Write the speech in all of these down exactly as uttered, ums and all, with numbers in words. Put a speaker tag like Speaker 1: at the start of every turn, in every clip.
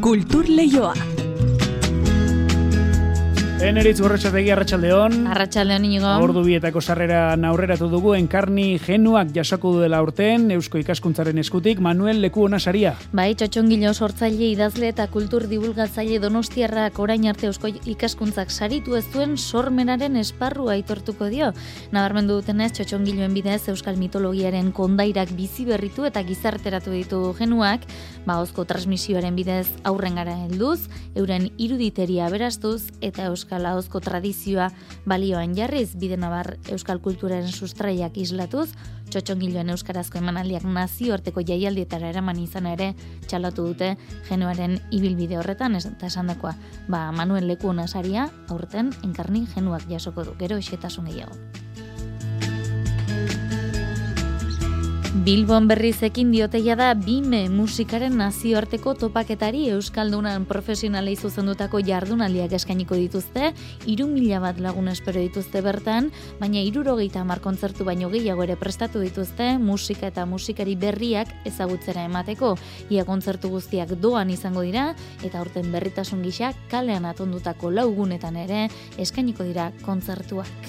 Speaker 1: Kultur Leioa.
Speaker 2: Eneritz Gorrotxategi, arratsaldeon.
Speaker 3: Arratsaldeon inigo.
Speaker 2: Ordu bietako sarrera aurreratu dugu Enkarni Genuak jasoko duela urten Eusko Ikaskuntzaren eskutik Manuel Lekuona saria.
Speaker 3: Bai, Txotxongilo sortzaile, idazle eta kultur divulgatzaile donostiarrak orain arte Eusko Ikaskuntzak saritu ez duen sormenaren esparrua aitortuko dio. Nabarmendu dutenez, Txotxongiloen bidez euskal mitologiaren kondairak bizi berritu eta gizarteratu ditu Genuak, ba ahozko transmisioaren bidez aurrengara helduz, euren iruditeria aberastuz eta euskal ahozko tradizioa balioan jarriz, bide nabar euskal kulturaren sustraiak islatuz, Txotxongiloen euskarazko emanaldiak nazioarteko jaialdietara eraman izan ere txalotu dute Genuaren ibilbide horretan, eta esandakoa, ba Manuel Lekuona saria aurten Enkarni Genuak jasoko du, gero xehetasun gehiago. Bilbon berriz ekin dioteia da Bime musikaren nazioarteko topaketari euskaldunan profesionalei zuzendutako jardunaldiak eskainiko dituzte, hiru mila bat lagun espero dituzte bertan, baina hirurogeita hamar kontzertu baino gehiago ere prestatu dituzte musika eta musikari berriak ezagutzera emateko. Ia kontzertu guztiak doan izango dira eta aurten berritasun gisa kalean atondutako laugunetan ere eskainiko dira kontzertuak.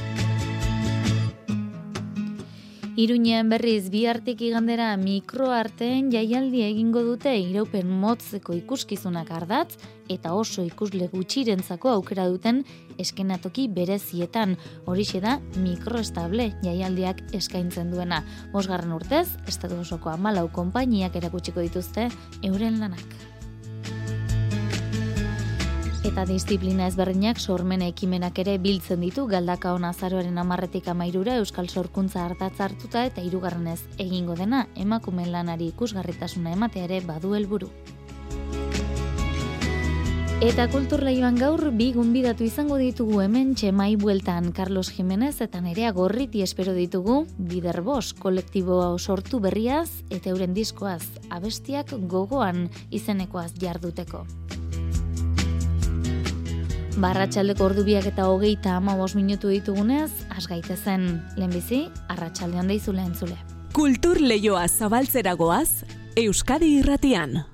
Speaker 3: Iruñean berriz bihartik igandera mikroarteen jaialdi egingo dute iraupen motzeko ikuskizunak ardatz eta oso ikusle gutxirentzako aukera duten eskenatoki berezietan. Horixe da mikroestable jaialdiak eskaintzen duena. Bosgarren urtez, estatu osoko hamalau konpainiak erakutsiko dituzte euren lanak. Eta disiplina ezberdinak sormen ekimenak ere biltzen ditu Galdakaon azaroaren hamarretik hamairura euskal sorkuntza ardatz hartuta eta hirugarrenez egingo dena emakumeen lanari ikusgarritasuna ematea ere badu helburu. Eta Kultur Leioan gaur bi gonbidatu izango ditugu hemen txemai bueltan Carlos Jimenez eta Nerea Gorriti espero ditugu Biderbos kolektibo sortu berriaz eta euren diskoaz abestiak gogoan izenekoaz jarduteko. Barratxaldeko ordubiak eta hogeita hamabost minutu ditugunez, has gaitezen lehenbizi, arratsaldean deizula entzule.
Speaker 1: Kultur Leioa zabaltzera goaz, Euskadi Irratian.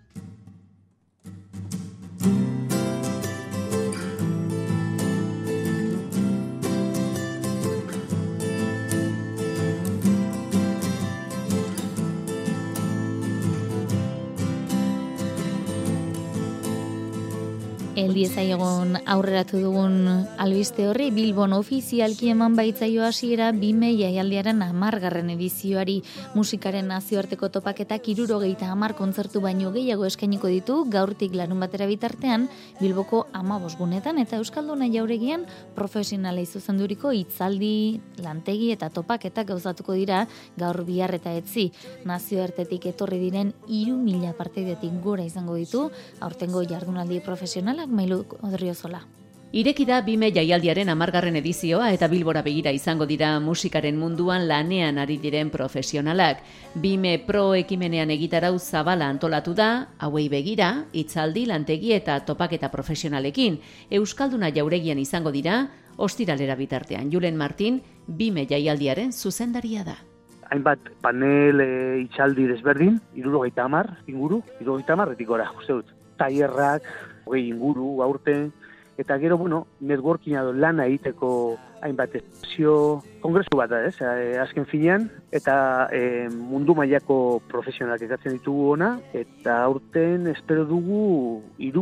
Speaker 3: Eldiezaiegon aurreratu dugun albiste horri Bilbon ofizialki eman baitzaio hasiera Bime jaialdiaren hamargarren edizioari. Musikaren nazioarteko topaketak hirurogeita hamar kontzertu baino gehiago eskainiko ditu gaurtik larun batera bitartean Bilboko hamabost gunetan eta euskalduna jauregian profesionalei zuzenduriko hitzaldi, lantegi eta topaketak gauzatuko dira gaur bihar eta etzi. Nazioartetik etorri diren hiru mila partaidetik gora izango ditu aurtengo jardunaldi profesionalak Mailu Odriozola.
Speaker 4: Ireki da Bime jaialdiaren hamargarren edizioa eta Bilbora begira izango dira musikaren munduan lanean ari diren profesionalak. Bime Pro ekimenean egitarau zabala antolatu da, hauei begira, hitzaldi, lantegi eta topaketa profesionalekin. Euskalduna jauregian izango dira, ostiralera bitartean. Julen Martin, Bime jaialdiaren zuzendaria da.
Speaker 5: Hainbat panel e, hitzaldi desberdin, hirurogeita hamar inguru, hirurogeita hamarretik gora, uste dut. Tailerrak, hogei inguru, aurten, eta gero, bueno, networkinga do lana egiteko hainbat esio kongresu bat da, ez, azken finean, eta e, mundu mailako profesionalak ekartzen ditugu ona, eta aurten espero dugu hiru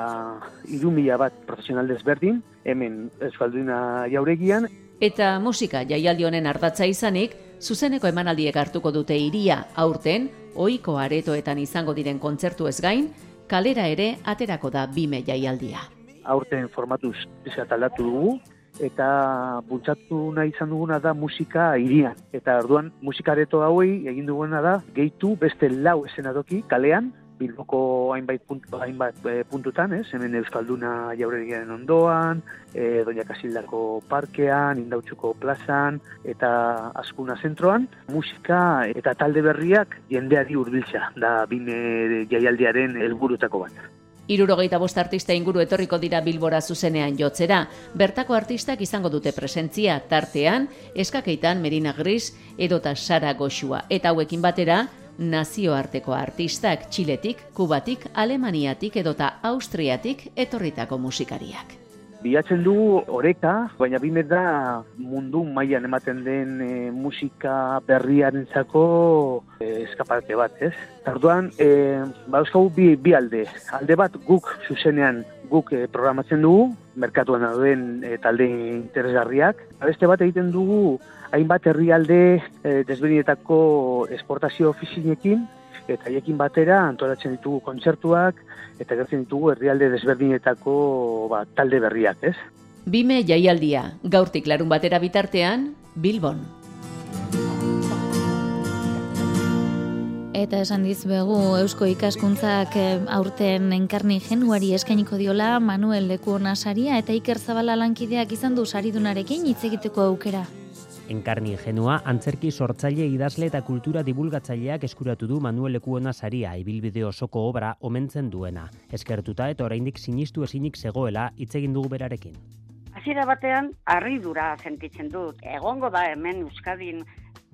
Speaker 5: mila bat profesional desberdin, hemen euskalduna jauregian.
Speaker 4: Eta musika jaialdi honen ardatza izanik, zuzeneko emanaldiek hartuko dute hiria aurten, ohiko aretoetan izango diren kontzertu ez gain, kalera ere aterako da Bime jaialdia.
Speaker 5: Aurten formatuz bizat aldatu dugu eta bultzatu nahi izan duguna da musika hirian. Eta orduan musikareto hauei egin duguna da gehitu beste lau eszenatoki kalean, Bilboko hainbait, puntu, hainbat e, puntutan, ez? Hemen Euskalduna jauregiaren ondoan, e, Doña Kasildako parkean, Indautxuko plazan eta Azkuna zentroan, musika eta talde berriak jendeari hurbiltzea da Bime jaialdiaren helburutako bat.
Speaker 4: Hirurogeita bost artista inguru etorriko dira Bilbora zuzenean jotzera. Bertako artistak izango dute presentzia tartean, Eskakeitan Merina Gris edota Sara Goxua. Eta hauekin batera, nazioarteko artistak, Txiletik, Kubatik, Alemaniatik edota Austriatik etorritako musikariak.
Speaker 5: Bilatzen dugu oreka, baina bimet da mundu mailan ematen den e, musika berriarentzako e, eskaparte bat, ez? Tarduan, e, ba, euskagu bi, bi alde. Alde bat guk zuzenean guk e, programatzen dugu, merkatuan dauden e, talde interesgarriak. Beste bat egiten dugu hainbat herrialde e, desberdinetako esportazio ofizinekin, eta haiekin batera antolatzen ditugu kontzertuak, eta gertzen ditugu herrialde desberdinetako ba, talde berriak, ez?
Speaker 4: Bime jaialdia, gaurtik larun batera bitartean, Bilbon.
Speaker 3: Eta esan dizuegu Eusko Ikaskuntzak aurten Enkarni Genuari eskainiko diola Manuel Lekuona saria eta Iker Zabala lankideak izan du saridunarekin hitz egiteko aukera.
Speaker 6: Enkarni Genua antzerki sortzaile idazle eta kultura divulgatzaileak eskuratu du Manuel Lekuona saria ibilbide osoko obra omentzen duena. Eskertuta eta oraindik sinistu ezinik zegoela hitz egin dugu berarekin.
Speaker 7: Hasiera batean harridura sentitzen dut. Egongo da hemen Euskadin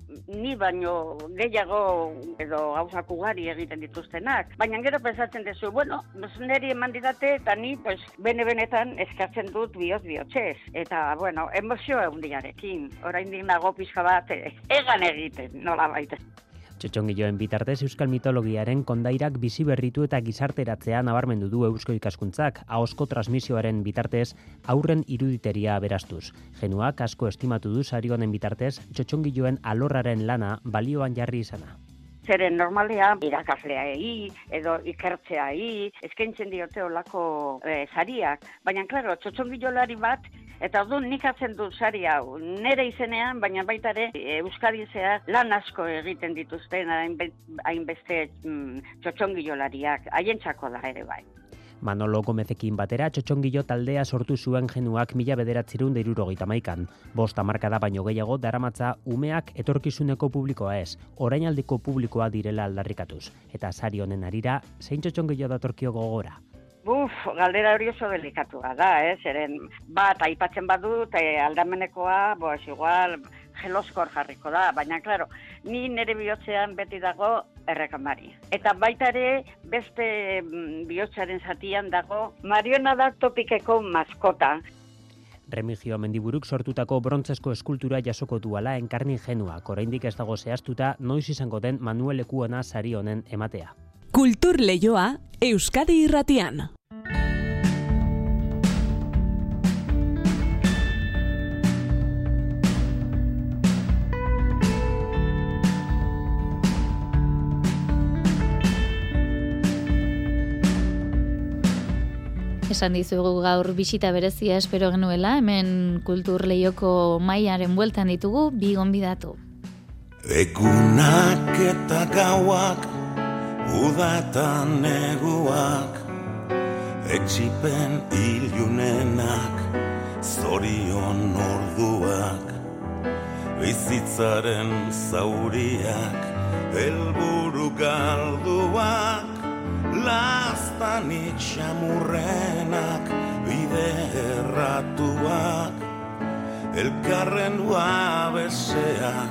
Speaker 7: ni baino gehiago edo gauzak ugari egiten dituztenak. Baina gero pensatzen duzu, bueno, niri eman didate eta ni pues, bene-benetan eskatzen dut bihotz-bihotzez. Eta, bueno, emozio egundiarekin. Oraindik nago pixka bat egan egiten, nola baita.
Speaker 6: Txotxongilloen bitartez euskal mitologiaren kondairak bizi berritu eta gizarteratzea nabarmendu du Eusko Ikaskuntzak, ahozko transmisioaren bitartez aurren iruditeria aberastuz. Genuak asko estimatu du sari honen bitartez txotxongilloen alorraren lana balioan jarri izana.
Speaker 7: Zeren normalea irakasleai edo ikertzeai eskaintzen diote olako e, sariak, baina klaro, txotxongillolari bat eta orduan nik hartzen dut sari hau nere izenean, baina baita ere Euskadin zehar lan asko egiten dituzten hainbeste mm, txotxongillolariak, haientzako da ere bai.
Speaker 6: Manolo Gomezekin batera txotxongillo taldea sortu zuen Genuak mila bederatzirun da hirurogeita hamaikan. Bost hamarkada baino gehiago daramatza umeak etorkizuneko publikoa ez, orainaldiko publikoa direla aldarrikatuz. Eta sari honen harira, zein txotxongillo datorkio gogora?
Speaker 7: Buf, galdera hori oso delikatua da, eh? Zeren bat aipatzen badut, eh, aldamenekoa, boaz, igual, geloskor jarriko da, baina, klaro, ni nire bihotzean beti dago errekamari. Eta baita ere, beste bihotzaren zatian dago, Mariona da topikeko maskota.
Speaker 6: Remigio Mendiburuk sortutako brontzesko eskultura jasoko duala Enkarni Genuak, oraindik ez dago zehaztuta noiz izango den Manuel Lekuona sari honen ematea.
Speaker 1: Kultur Leioa, Euskadi Irratian.
Speaker 3: Esan dizugu gaur bisita berezia espero genuela, hemen Kultur Leioko mailaren bueltan ditugu bi gonbidatu.
Speaker 8: Egunak eta gauak, uda eta neguak, etsipen ilunenak, zorion orduak, bizitzaren zauriak, helburu galduak, laztanik xamurrenak, bide erratuak, elkarren uabesean,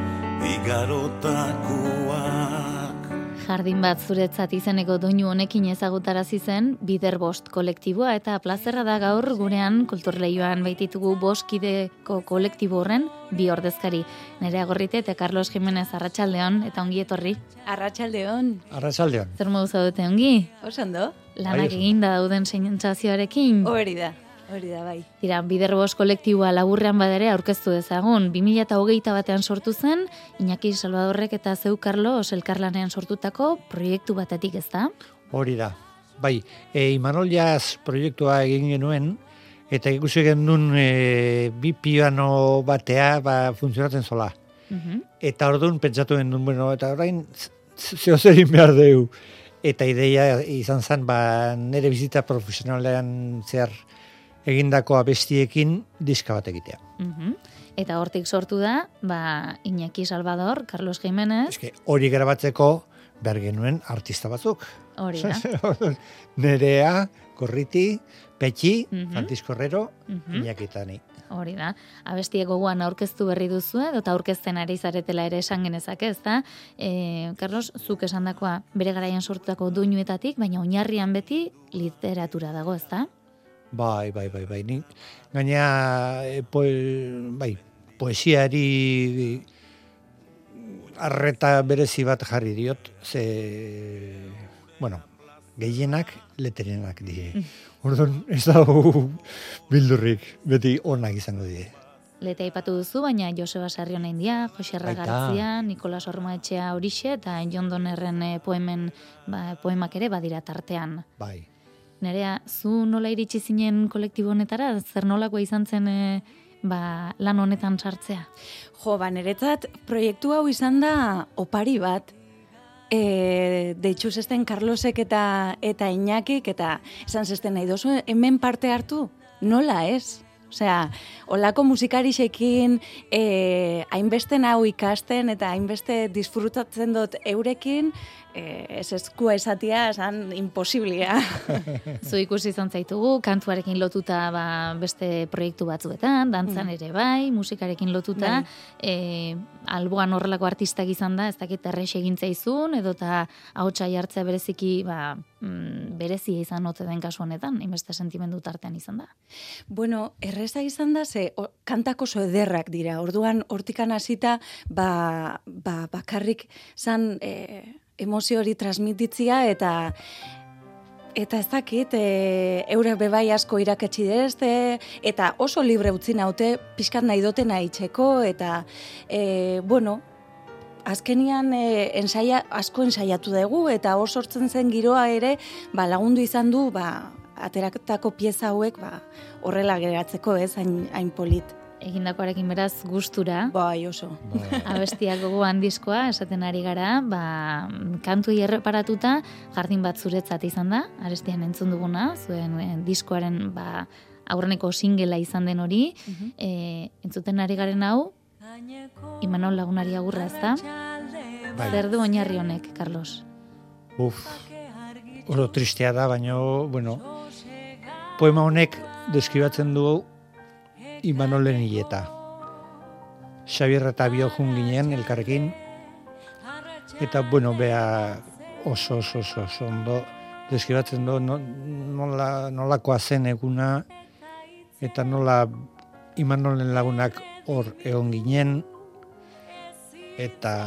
Speaker 8: igarotakuak.
Speaker 3: Jardin bat zuretzat izeneko doinu honekin ezagutarazi zen Bider Bost kolektiboa eta plazerra da gaur gurean Kultur Leioan baititugu bost kideko kolektibo horren bi ordezkari. Nerea Gorrite eta Carlos Jimenez arratsaldeon eta ongi etorri.
Speaker 9: Arratsaldeon.
Speaker 10: Arratsaldeon.
Speaker 3: Zer modu zaudete ongi?
Speaker 9: Osando.
Speaker 3: Lanak eginda dauden sentsazioarekin.
Speaker 9: Hori da. Hori da, bai.
Speaker 3: Tira, Bider Bost kolektiboa laburrean badere aurkeztu dezagun. bi mila hogeita batean sortu zen, Iñaki Salvadorrek eta zeu Carlos elkarlanean sortutako proiektu batetik, ez da?
Speaker 10: Hori da. Bai, e, Imanol Jazz proiektua egin genuen, eta ikusi genuen e, bi piano batea ba, funtzionatzen zola.
Speaker 3: Uh-huh.
Speaker 10: Eta orduan pentsatu genuen, bueno, eta orain zeo zerin behar dugu. Eta ideia izan zen, ba, nire bizita profesionalean zehar egindako abestiekin diska bat egitea.
Speaker 3: Uh-huh. Eta hortik sortu da, ba, Iñaki Salvador, Carlos Jimenez.
Speaker 10: Eske hori grabatzeko behar genuen artista batzuk.
Speaker 3: Hori da.
Speaker 10: Nerea, Gorriti, Petxi,
Speaker 3: uh-huh.
Speaker 10: Francisco Herrero,
Speaker 3: uh-huh.
Speaker 10: Iñaki eta ni.
Speaker 3: Hori da. Abestiek gogoan aurkeztu berri duzu edo eta aurkezten ari zaretela ere esan genezake, ezta? E, Carlos, zuk esandakoa bere garaian sortutako doinuetatik, baina oinarrian beti literatura dago, ezta?
Speaker 10: Bai, bai, bai, bai. Ni gaina e, poe, bai, poesiari arreta berezi bat jarri diot, ze bueno, gehienak leterenak die. Orduan ez dago bildurrik, beti onak izango die.
Speaker 3: Lete aipatu duzu, baina Joseba Sarriona India, Jose Gartzia, Nikolas Ormaetxea horixe eta Jon Donnerren poemen, ba, poemak ere badira tartean.
Speaker 10: Bai.
Speaker 3: Nerea, zu nola iritsi zinen kolektibo honetara? Zer nolakoa izan zen e, ba, lan honetan sartzea?
Speaker 9: Jo, ba, niretzat proiektu hau izan da opari bat. E, deitxu zesten Carlosek eta, eta Iñakik, eta esan zesten nahi dozu, hemen parte hartu? Nola ez? Osea, olako musikarixekin, e, hainbeste hau ikasten eta hainbeste disfrutatzen dut eurekin, e, ez eskua esatia, esan imposiblia.
Speaker 3: Zu ikusi izan zaitugu, kantuarekin lotuta ba, beste proiektu batzuetan, dantzan ere bai, musikarekin lotuta, e, alboan horrelako artistak izan da, ez dakit errex egin zaizun, edo eta ahotsa jartzea bereziki ba, mm, berezia izan ote den kasu honetan, inbeste sentimendu tartean izan da.
Speaker 9: Bueno, erreza izan da, ze o, kantak oso ederrak dira, orduan hortikan hasita ba, ba, bakarrik zan e, emozio hori transmititzia eta Eta ez dakit, e, eurek bebai asko irakatsi dezte, eta oso libre utzi naute, pixkat nahi dotena itxeko, eta, e, bueno, azkenian e, ensaia, asko ensaiatu dugu, eta oso sortzen zen giroa ere, ba, lagundu izan du, ba, ateratako pieza hauek, ba, horrela geratzeko, ez, hain, hain polit.
Speaker 3: Egindakoarekin beraz gustura.
Speaker 9: Bai, oso.
Speaker 3: Abestiak gogoan diskoa, esaten ari gara, ba, kantuei erreparatuta, jardin bat zuretzat izan da, arestian entzun duguna, zuen e, diskoaren ba, aurreneko singela izan den hori, uh-huh. e, entzuten ari garen hau, Imanol Lagunari agurra, ezta? Bai. Zer du oinarri honek, Carlos?
Speaker 10: Uf, oro tristea da, baina, bueno, poema honek deskribatzen du Imanolen hileta. Xabier eta bio jun ginen elkarrekin, eta, bueno, bea oso, oso, oso, oso ondo deskribatzen du no, nola, nolakoa zen eguna, eta nola Imanolen lagunak hor egon ginen, eta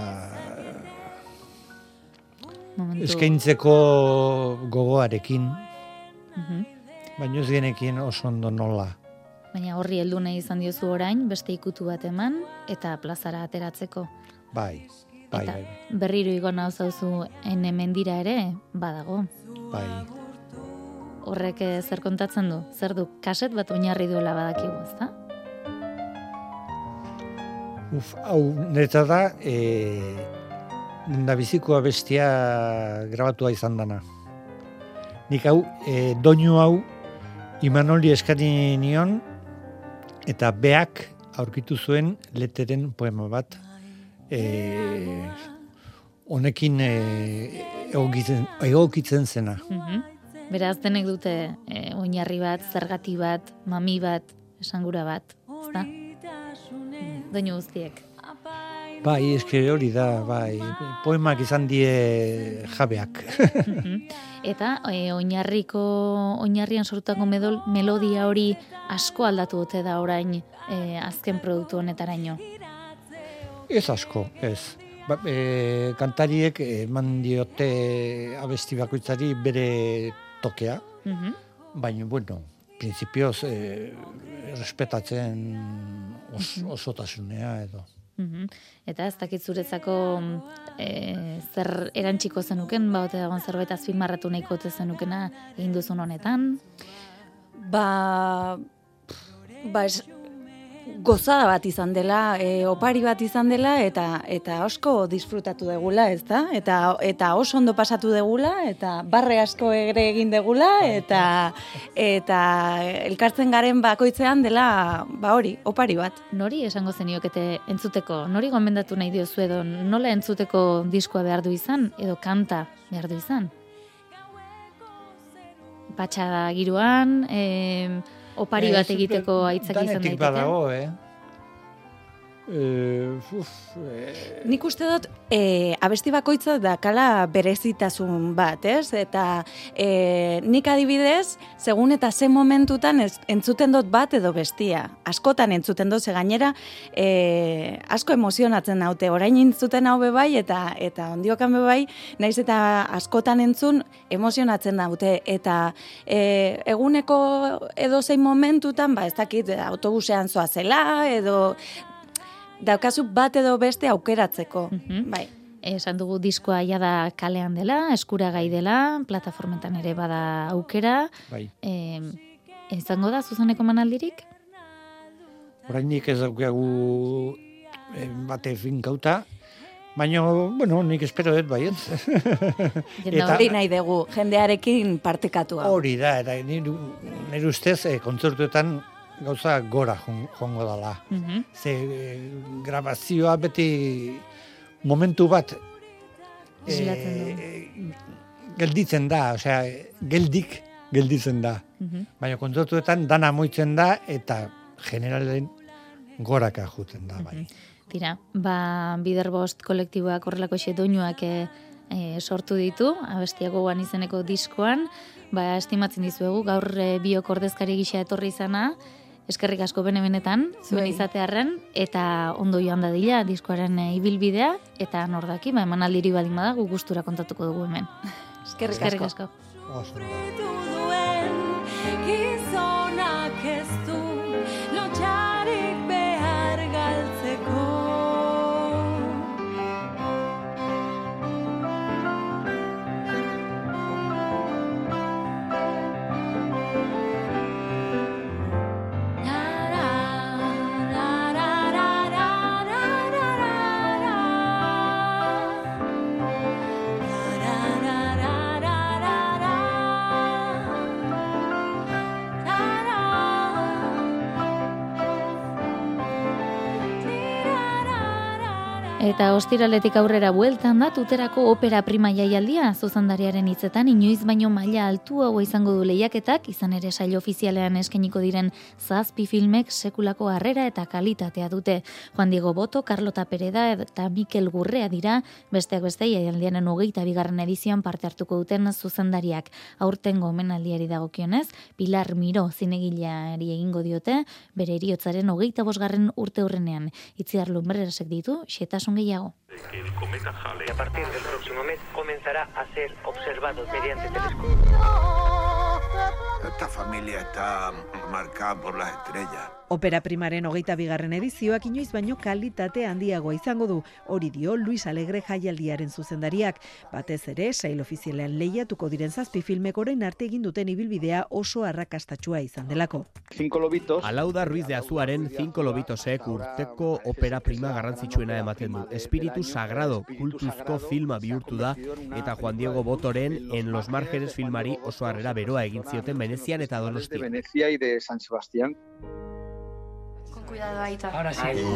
Speaker 10: Momentu. Eskaintzeko gogoarekin, uh-huh. baina ez genekin oso ondo nola.
Speaker 3: Baina horri heldu nahi izan diozu orain, beste ikutu bat eman, eta plazara ateratzeko.
Speaker 10: Bai, bai,
Speaker 3: eta
Speaker 10: bai.
Speaker 3: Berriro igona zauzu ene mendira ere, badago.
Speaker 10: Bai.
Speaker 3: Horrek zer kontatzen du? Zer du, kaset bat oinarri duela badakigu, ezta?
Speaker 10: Uf, hau, niretzat da, e, lendabizikoa bestia grabatua izan dana. Nik hau, e, doinu hau, Imanoli eskani nion, eta beak aurkitu zuen leteren poema bat, e, honekin e, egokitzen, egokitzen zena.
Speaker 3: Mm-hmm. Beraz, denek dute e, oinarri bat, zergati bat, mami bat, esangura bat, ezta? Doinu guztiek.
Speaker 10: Bai, eske hori da, bai, poemak izan die jabeak.
Speaker 3: Eta e, oinarriko, oinarrian sortutako medol, melodia hori asko aldatu dute da orain e, azken produktu honetaraino.
Speaker 10: Ez asko, ez. Ba, e, kantariek eman diote abesti bakoitzari bere tokea, uh-huh. baina, bueno, prinsipioz e, respetatzen os, osotasunea edo.
Speaker 3: Uh-huh. Eta ez dakit zuretzako e, zer erantxiko zenuken, ba, ote dagoen zerbait azpimarratu nahiko ote zenukena egin duzun honetan?
Speaker 9: Ba, ba ez, gozada bat izan dela, e, opari bat izan dela, eta eta asko disfrutatu degula, ez da? Eta, eta oso ondo pasatu degula, eta barre asko ere egin degula, eta, eta elkartzen garen bakoitzean dela, ba hori, opari bat.
Speaker 3: Nori esango zeniokete entzuteko? Nori gomendatu nahi diozu edo nola entzuteko diskoa behar du izan, edo kanta behar du izan? Patxada giroan, e, opari bat egiteko aitzaki izan daiteke.
Speaker 10: Danetik badago, eh? Uh, uf, eh.
Speaker 9: Nik uste dut e, abesti bakoitza dakala berezitasun bat, ez? Eta e, nik adibidez, segun eta ze momentutan ez, entzuten dut bat edo bestia. Askotan entzuten dut, ze gainera e, asko emozionatzen naute. Orain entzuten hau bebai eta eta ondiokan bebai, naiz eta askotan entzun emozionatzen naute. Eta e, eguneko edozein momentutan, ba ez dakit autobusean zoazela edo daukazu bat edo beste aukeratzeko, mm-hmm. bai.
Speaker 3: Esan dugu diskoa ja da kalean dela, eskuragai dela, plataformetan ere bada aukera.
Speaker 10: Bai.
Speaker 3: E, izango da zuzeneko manaldirik?
Speaker 10: Orainik ez daukagu eh, bate finkauta, baina, bueno, nik espero dut baiet.
Speaker 9: Eta hori nahi dugu, jendearekin partekatua.
Speaker 10: Hori da, eta nire, nire ustez eh, kontzertuetan gauza gora joango dela. Mm-hmm. Ze e, grabazioa beti momentu bat e, gelditzen da, osea, geldik gelditzen da. Mm-hmm. Baina kontzertuetan dana moitzen da eta generalen goraka juten da. Bai.
Speaker 3: Mm-hmm. Tira, ba, Biderbost kolektiboak horrelako xe doinuak e, e, sortu ditu, abestiago guan izeneko diskoan, ba, estimatzen dizuegu, gaur e, biok ordezkari gisa etorri izana, eskerrik asko bene-benetan, zuen izatearren, eta ondo joan dadila diskoaren e, ibilbidea, eta nordaki, ba, eman aldiri baldin bada, gu gustura kontatuko dugu hemen.
Speaker 9: Eskerrik,
Speaker 3: eskerrik asko.
Speaker 9: asko. Eta ostiraletik aurrera bueltan da tuterako opera prima jaialdia, zuzendariaren hitzetan inoiz baino maila altuagoa izango du lehiaketak, izan ere sail ofizialean eskainiko diren zazpi filmek sekulako harrera eta kalitatea dute. Juan Diego Boto, Carlota Pereda eta Mikel Gurrea dira, besteak beste jaialdiaren hogeita bigarren edizioan parte hartuko duten zuzendariak. Aurtengo omenaldiari dagokionez, Pilar Miró zinegileari egingo diote, bere heriotzaren hogeita bosgarren urte hurrenean. Itziar Lumbreresek ditu, xetasun gehiago.
Speaker 11: El cometa Halley a partir del próximo mes comenzará a ser observado mediante telescopio.
Speaker 12: Esta familia está marcada por las estrellas.
Speaker 13: Opera primaren hogeita bigarren edizioak inoiz baino kalitate handiagoa izango du, hori dio Luis Alegre jaialdiaren zuzendariak. Batez ere, sail ofizialean lehiatuko diren zazpi filmek orain arte egin duten ibilbidea oso arrakastatsua izan delako.
Speaker 14: Cinco Lobitos.
Speaker 15: Alauda Ruiz de Azuaren Cinco Lobitosek urteko opera prima garrantzitsuena ematen du. Espiritu Sagrado kultuzko filma bihurtu da eta Juan Diego Botoren En los Márgenes filmari oso harrera beroa egin zioten Venezian eta Donosti.
Speaker 14: De Venecia y de San Sebastián.
Speaker 16: Cuidado, Aita.
Speaker 17: Ahora sí.
Speaker 16: Ay,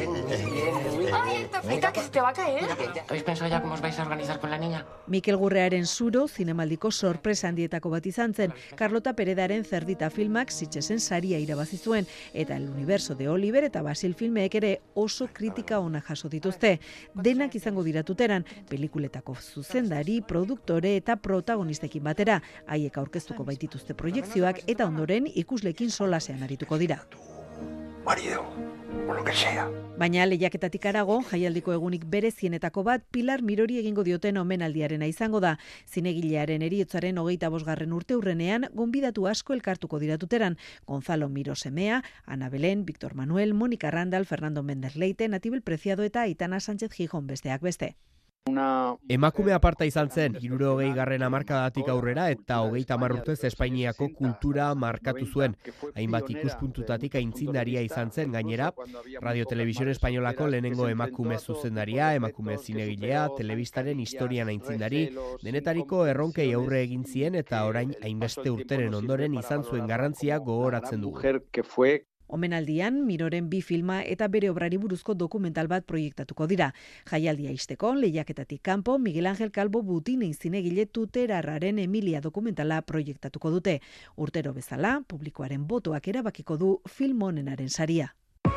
Speaker 16: Aita, Aita, que se te va a caer.
Speaker 17: ¿Habéis pensado ya cómo os vais a organizar con la niña?
Speaker 13: Mikel Gurrearen Zuro, zinemaldiko sorpresa handietako bat izan zen, Carlota Peredaren Zerdita filmak Sitxesen saria irabazi zuen, eta El Universo de Oliver eta Basil filmeek ere oso kritika ona jaso dituzte. Denak izango dira tuteran, pelikuletako zuzendari, produktore eta protagonistekin batera, haiek aurkeztuko baitituzte proiekzioak eta ondoren ikuslekin solasean arituko dira.
Speaker 12: Marido, o lo que sea.
Speaker 13: Baina lehiaketatik arago, jaialdiko egunik berezienetako bat Pilar Mirori egingo dioten omenaldiarena izango da. Zinegilearen heriotzaren hogeita bosgarren urte hurrenean, gonbidatu asko elkartuko diratuteran. Gonzalo Miro semea, Ana Belén, Víctor Manuel, Mónica Randall, Fernando Méndez Leite, Natibel Preciado eta Aitana Sánchez Gijón besteak beste.
Speaker 14: Una...
Speaker 15: Emakume aparta izan zen, hirurogei garren hamarkadatik aurrera eta hogeita hamar urtez Espainiako kultura markatu zuen. Hainbat ikuspuntutatik aitzindaria izan zen, gainera, Radio Televisión Espainolako lehenengo emakume zuzendaria, emakume zinegilea, telebistaren historian aitzindari, denetariko erronkei aurre egin zien eta orain hainbeste urteren ondoren izan zuen garrantzia gogoratzen dugu.
Speaker 14: Mujer que fue
Speaker 13: Omenaldian, Miroren bi filma eta bere obrari buruzko dokumental bat proiektatuko dira. Jaialdia ixteko, lehiaketatik kanpo, Miguel Ángel Calvo Butinei zinegile Tuterarraren Emilia dokumentala proiektatuko dute. Urtero bezala, publikoaren botoak erabakiko du film onenaren saria.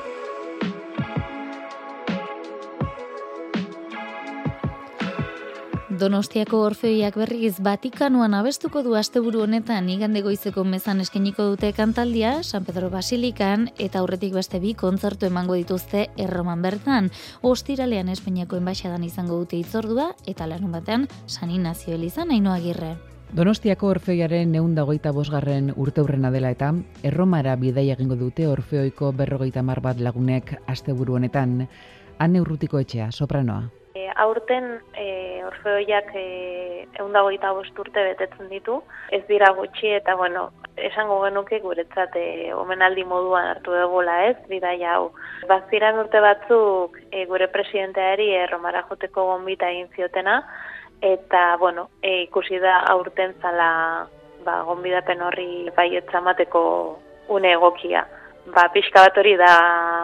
Speaker 3: Donostiako Orfeoiak berriz Vatikanoan abestuko du asteburu honetan igande goizeko mezan eskainiko dute kantaldia San Pedro Basilikan eta aurretik beste bi kontzertu emango dituzte Erroman bertan. Ostiralean Espainiako enbaxadan izango dute hitzordua eta larun batean San Inazio elizan Ainhoa Agirre.
Speaker 16: Donostiako Orfeoiaren ehun eta hogeita bosgarren urteurrena dela eta Erromara bidaia egingo dute Orfeoiko berrogeita hamar bat lagunek asteburu honetan. Ane Urrutiko etxea, sopranoa.
Speaker 18: E, aurten e, Orfeoiak ehun eta hogeita bost urte betetzen ditu, ez dira gutxi eta bueno, esango genuke guretzat e, omenaldi moduan hartu dugula ez, bidaia hau. Baziran urte batzuk e, gure presidenteari Erromara joteko gonbita egin ziotena, eta bueno, e, ikusi da aurten zala ba, gonbidapen horri baietza emateko une egokia. Ba, pixka bat hori da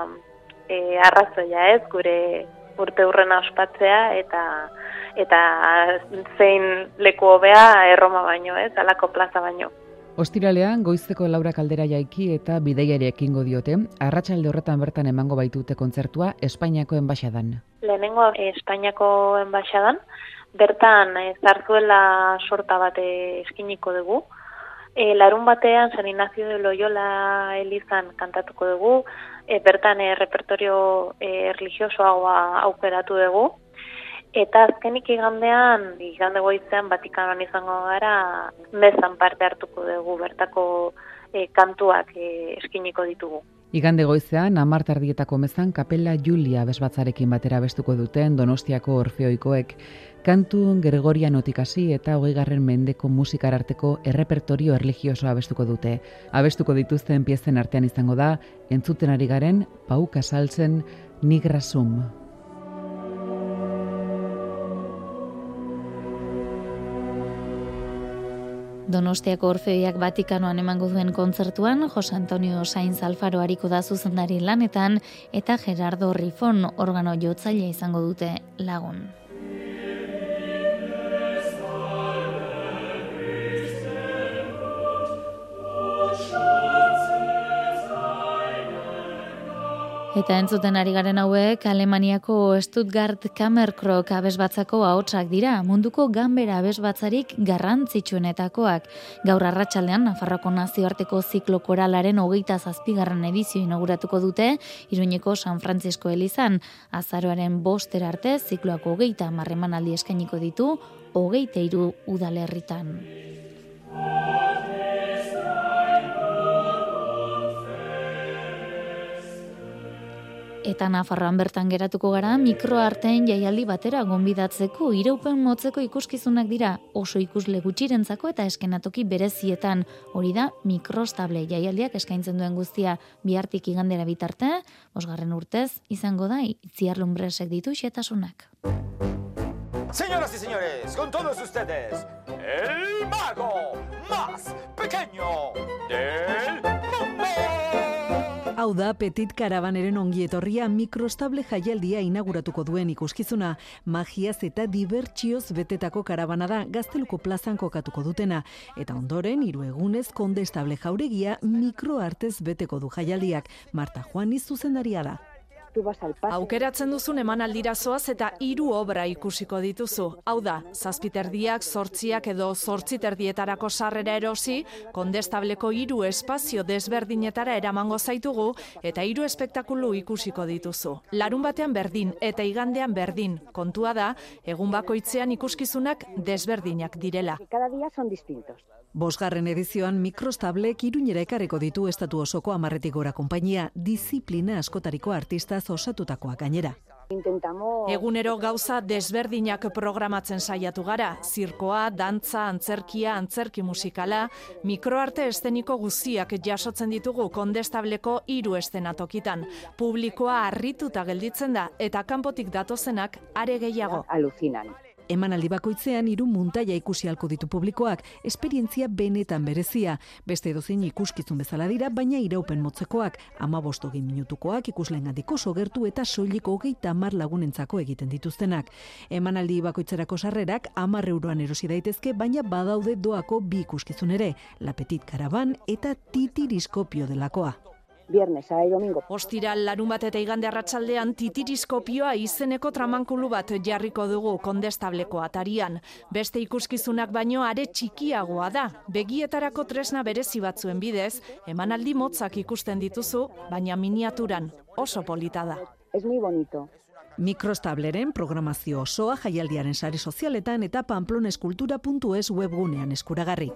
Speaker 18: e, arrazoia ez, gure urte hurrena ospatzea eta eta zein leku hobea Erroma baino, ez, alako plaza baino.
Speaker 16: Ostiralean goizeko Laura Kaldera jaiki eta bidaiari ekingo diote, arratsalde horretan bertan emango baitute kontzertua Espainiako enbaxadan.
Speaker 18: Lehenengo Espainiako enbaxadan, bertan zarzuela sorta bat eskiniko dugu. E, larun batean San Ignacio de Loyola elizan kantatuko dugu, e, bertan e, repertorio e, religiosoagoa aukeratu dugu, eta azkenik igandean, igande goizean Vatikanoan izango gara, mezan parte hartuko dugu, bertako e, kantuak e, eskiniko ditugu.
Speaker 16: Igande goizean, hamar tardietako mezan Kapela Julia abesbatzarekin batera abestuko duten Donostiako Orfeoikoek, kantu Gregorianotik hasi eta hogeigarren mendeko musikararteko errepertorio erlijiosoa abestuko dute. Abestuko dituzten piezen artean izango da, entzuten ari garen Pau Casalsen Nigrasum.
Speaker 3: Donostiako Orfeoiak Vatikanoan emango duen kontzertuan, Jose Antonio Sainz Alfaro ariko da zuzendari lanetan eta Gerardo Rifon organo jotzailea izango dute lagun. Eta entzuten ari garen hauek, Alemaniako Stuttgart Kammerkrok abesbatzako ahotsak dira, munduko ganbera abesbatzarik garrantzitsuenetakoak. Gaur arratsaldean Nafarroako nazioarteko ziklo koralaren hogeita zazpigarren edizio inauguratuko dute, Iruñeko San Francisco elizan. Azaroaren bostera arte zikloak hogeita hamar emanaldi eskainiko ditu, hogeita hiru udalerritan. Eta Nafarroan bertan geratuko gara, mikroarteen jaialdi batera gonbidatzeko, iraupen motzeko ikuskizunak dira, oso ikusle gutxirentzako eta eskenatoki berezietan. Hori da, mikrostable jaialdiak eskaintzen duen guztia bihartik igandera bitarte, bosgarren urtez, izango da, Itziar Lumbresek ditu xetasunak.
Speaker 19: Señoras y señores, con todos ustedes, el mago más pequeño del mundo.
Speaker 13: Hau da, Petit Karavaneren ongietorria mikrostable jaialdia inauguratuko duen ikuskizuna. Magiaz eta dibertsioz betetako karabana da Gazteluko plazan kokatuko dutena. Eta ondoren, hiru egunez kondestable jauregia mikroartez beteko du jaialdiak. Marta Juaniz zuzendaria da.
Speaker 20: Aukeratzen duzun emanaldira zoaz eta hiru obra ikusiko dituzu. Hau da, zazpiterdiak, zortziak edo zortziterdietarako sarrera erosi, kondestableko hiru espazio desberdinetara eramango zaitugu eta hiru espektakulu ikusiko dituzu. Larun batean berdin eta igandean berdin. Kontua da, egun bakoitzean ikuskizunak desberdinak direla.
Speaker 13: Cada día son distintos. Bosgarren edizioan mikrostablek Iruñera ekarriko ditu estatu osoko hamarretik gora konpainia, disiplina askotariko artistaz osatutakoa gainera.
Speaker 20: Egunero gauza desberdinak programatzen saiatu gara, zirkoa, dantza, antzerkia, antzerki musikala, mikroarte eszeniko guztiak jasotzen ditugu kondestableko hiru eszenatokitan. Publikoa harrituta gelditzen da eta kanpotik datozenak are gehiago.
Speaker 13: Alucinan. Emanaldi bakoitzean hiru muntaia ikusi halko ditu publikoak, esperientzia benetan berezia. Beste edozein ikuskizun bezala dira, baina iraupen motzekoak, hamabost hogei minutukoak ikusleengandik oso gertu eta soilik hogeita hamar lagunentzako egiten dituztenak. Emanaldi bakoitzerako sarrerak hamar euroan erosi daitezke, baina badaude doako bi ikuskizun ere, La Petit Caravan eta Titiriskopio delakoa.
Speaker 21: Viernes, sábado y domingo.
Speaker 20: Ostiral, larun bat eta igande arratsaldean Titiriskopioa izeneko tramankulu bat jarriko dugu Kondestableko atarian. Beste ikuskizunak baino are txikiagoa da. Begietarako tresna berezi batzuen bidez, emanaldi motzak ikusten dituzu, baina miniaturan oso polita da.
Speaker 21: Es muy bonito.
Speaker 13: Mikrostableren programazio osoa jaialdiaren sare sozialetan eta pamploneskultura puntu es webgunean eskuragarri.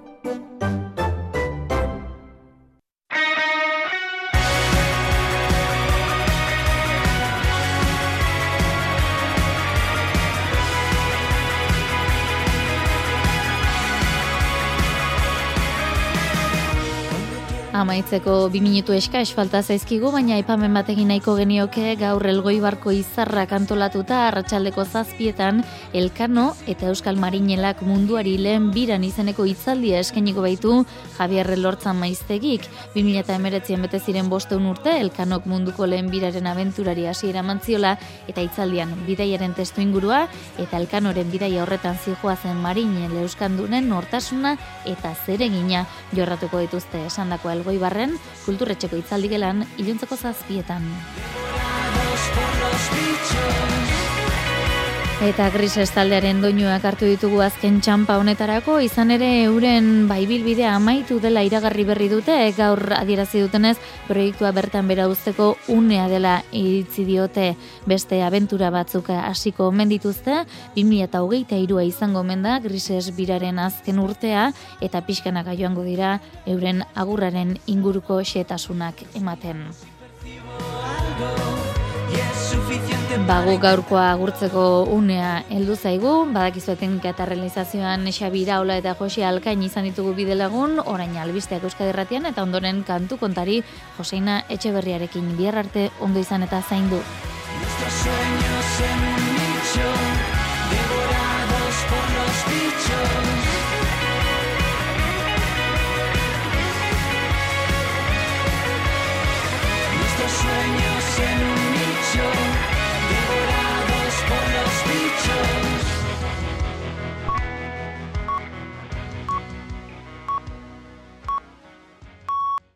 Speaker 3: Amaitzeko bi minutu eskais falta zaizkigu, baina aipamen batekin nahiko genioke gaur Elgoibarko izarrak antolatuta arratsaldeko zazpietan Elkano eta Euskal Marinelak munduari lehen biran izeneko hitzaldia eskainiko baitu Javier Lortzan Maiztegik. bi mila hemeretzian bete ziren bostehun urte Elkanok munduko lehen biraren abenturari hasiera eman ziola eta hitzaldian bidaiaren testuingurua eta Elkanoren bidaia horretan zihoazen Marinel euskandunen nortasuna eta zeregina jorratuko dituzte esandako Elgoibarren kulturretxeko hitzaldi gelan iluntzeko zazpietan. Eta Grises taldearen doinuak hartu ditugu azken txanpa honetarako, izan ere euren baibilbidea amaitu dela iragarri berri dute, gaur adierazi dutenez proiektua bertan bera uzteko unea dela iritzi diote. Beste abentura batzuk hasiko omen dituzte, bi mila hogeita hirua izango omen da Grises biraren azken urtea eta pixkanaka joango dira euren agurraren inguruko xehetasunak ematen. Bagu gaurkoa agurtzeko unea heldu zaigu, badakizu teknika eta realizazioan Xabi Iraola eta Jose Alkain izan ditugu bidelagun, orain albisteak Euskadi Irratian eta ondoren kantu kontari Joseina Etxeberriarekin. Bihar arte ondo izan eta zaindu.
Speaker 22: Sueños en un nicho.